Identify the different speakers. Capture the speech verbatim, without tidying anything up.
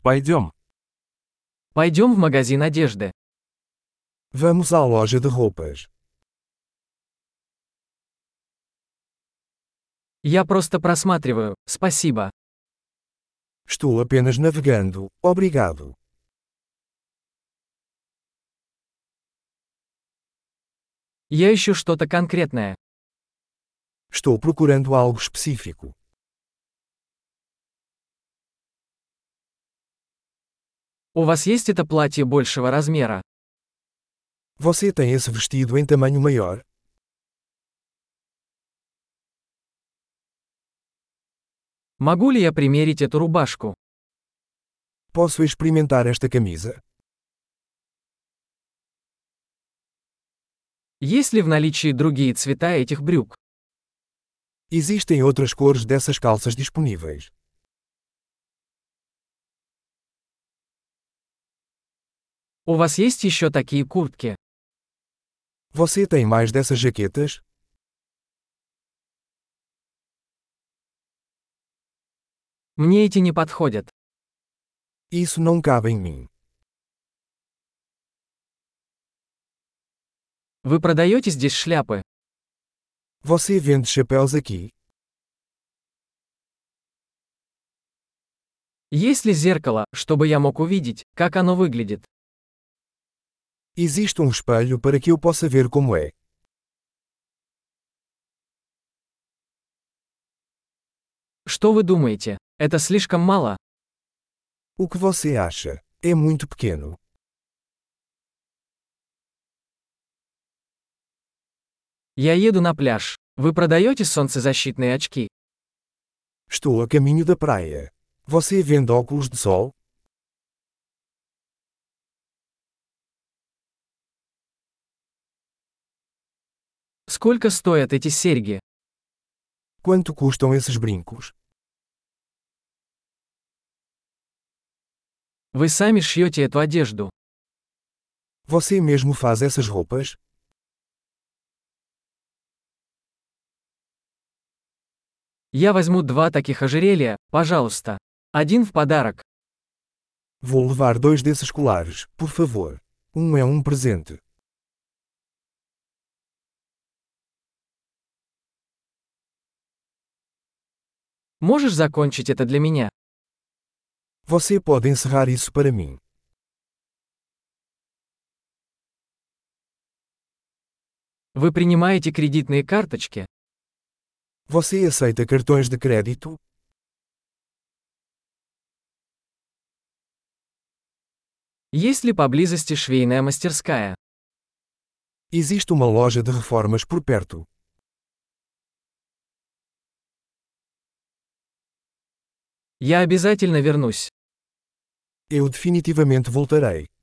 Speaker 1: Пойдем.
Speaker 2: Пойдем в магазин одежды.
Speaker 3: Vamos à loja de roupas.
Speaker 2: Я просто просматриваю, спасибо.
Speaker 3: Estou apenas navegando, obrigado.
Speaker 2: Я ищу что-то конкретное.
Speaker 3: Estou procurando algo específico.
Speaker 2: У вас есть это платье большего размера?
Speaker 3: Você tem esse vestido em tamanho maior?
Speaker 2: Могу ли я примерить эту рубашку?
Speaker 3: Posso experimentar esta camisa?
Speaker 2: Есть ли в наличии другие цвета этих брюк?
Speaker 3: Existem outras cores dessas calças disponíveis.
Speaker 2: У вас есть еще такие куртки?
Speaker 3: Você tem mais dessas jaquetas?
Speaker 2: Мне эти не подходят.
Speaker 3: Isso não cabe em mim.
Speaker 2: Вы продаете здесь шляпы?
Speaker 3: Você vende chapéus aqui?
Speaker 2: Есть ли зеркало, чтобы я мог увидеть, как оно выглядит?
Speaker 3: Existe um espelho para que eu possa ver como é.
Speaker 2: Что вы думаете? Это слишком мало?
Speaker 3: O que você acha? É muito pequeno.
Speaker 2: Я еду на пляж. Вы продаете солнцезащитные очки?
Speaker 3: Estou a caminho da praia. Você vende óculos de sol?
Speaker 2: Сколько стоят эти серьги?
Speaker 3: Quanto custam esses brincos?
Speaker 2: Вы сами шьете эту одежду.
Speaker 3: Você mesmo faz essas roupas?
Speaker 2: Я возьму два таких ожерелья, пожалуйста. Один в подарок.
Speaker 3: Vou levar dois desses colares, por favor. Um é um presente.
Speaker 2: Можешь закончить это для меня?
Speaker 3: Você pode encerrar isso para mim.
Speaker 2: Вы принимаете кредитные карточки?
Speaker 3: Você aceita cartões de crédito?
Speaker 2: Есть ли поблизости швейная мастерская?
Speaker 3: Existe uma loja de reformas por perto.
Speaker 2: Я обязательно вернусь.
Speaker 3: Eu definitivamente voltarei.